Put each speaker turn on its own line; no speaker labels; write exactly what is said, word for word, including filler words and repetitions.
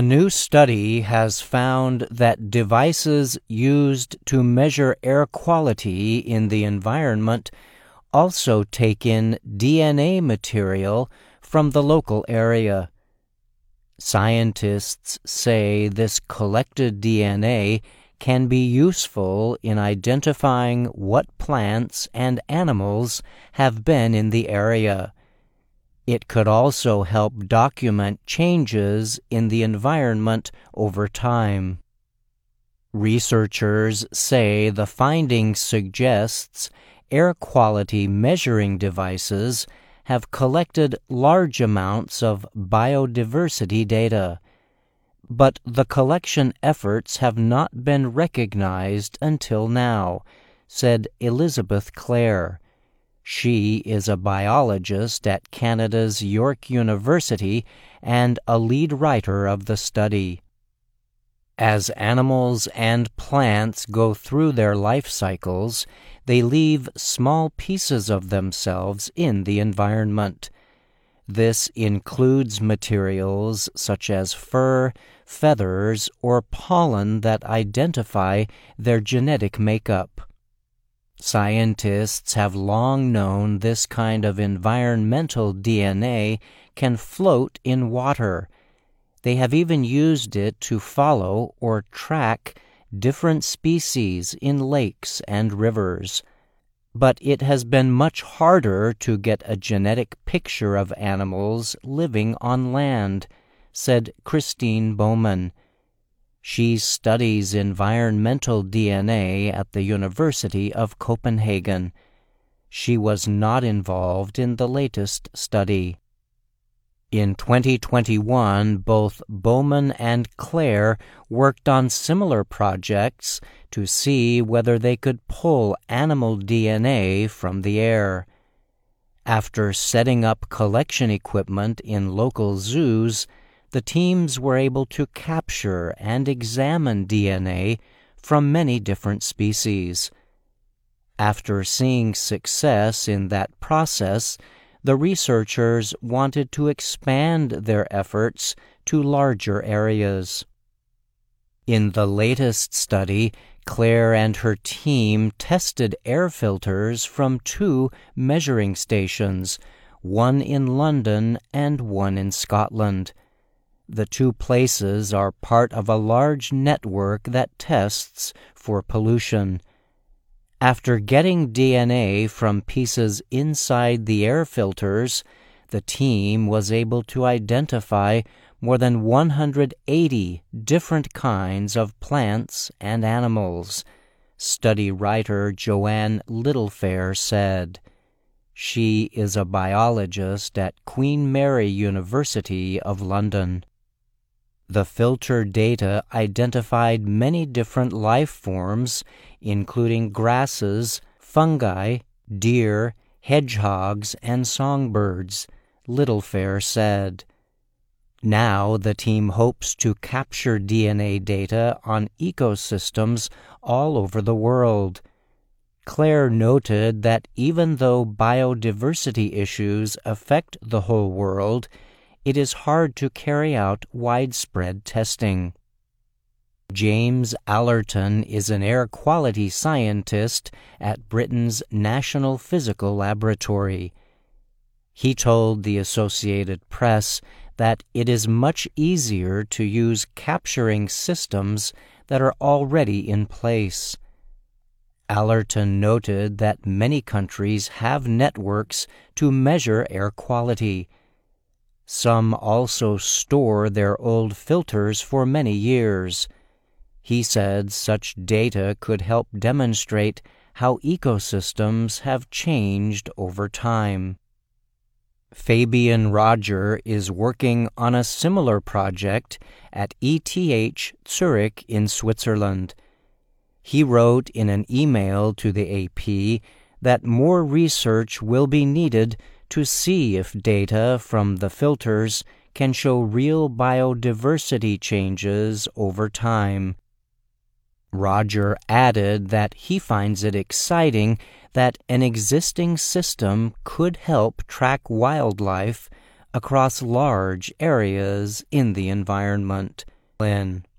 A new study has found that devices used to measure air quality in the environment also take in D N A material from the local area. Scientists say this collected D N A can be useful in identifying what plants and animals have been in the area. It could also help document changes in the environment over time. Researchers say the finding suggests air quality measuring devices have collected large amounts of biodiversity data, but the collection efforts have not been recognized until now, said Elizabeth Clare. She is a biologist at Canada's York University and a lead writer of the study. As animals and plants go through their life cycles, they leave small pieces of themselves in the environment. This includes materials such as fur, feathers, or pollen that identify their genetic makeup. Scientists have long known this kind of environmental D N A can float in water. They have even used it to follow or track different species in lakes and rivers. But it has been much harder to get a genetic picture of animals living on land, said Christine Bowman. She studies environmental D N A at the University of Copenhagen. She was not involved in the latest study. In twenty twenty-one, both Bowman and Clare worked on similar projects to see whether they could pull animal D N A from the air. After setting up collection equipment in local zoos, the teams were able to capture and examine D N A from many different species. After seeing success in that process, the researchers wanted to expand their efforts to larger areas. In the latest study, Clare and her team tested air filters from two measuring stations, one in London and one in Scotland. The two places are part of a large network that tests for pollution. After getting D N A from pieces inside the air filters, the team was able to identify more than one hundred eighty different kinds of plants and animals, study writer Joanne Littlefair said. She is a biologist at Queen Mary University of London. The filter data identified many different life forms, including grasses, fungi, deer, hedgehogs, and songbirds, Littlefair said. Now the team hopes to capture D N A data on ecosystems all over the world. Clare noted that even though biodiversity issues affect the whole world, it is hard to carry out widespread testing. James Allerton is an air quality scientist at Britain's National Physical Laboratory. He told the Associated Press that it is much easier to use capturing systems that are already in place. Allerton noted that many countries have networks to measure air quality. Some also store their old filters for many years. He said such data could help demonstrate how ecosystems have changed over time. Fabian Roger is working on a similar project at E T H Zurich in Switzerland. He wrote in an email to the A P that more research will be needed to see if data from the filters can show real biodiversity changes over time. Roger added that he finds it exciting that an existing system could help track wildlife across large areas in the environment. Lynn.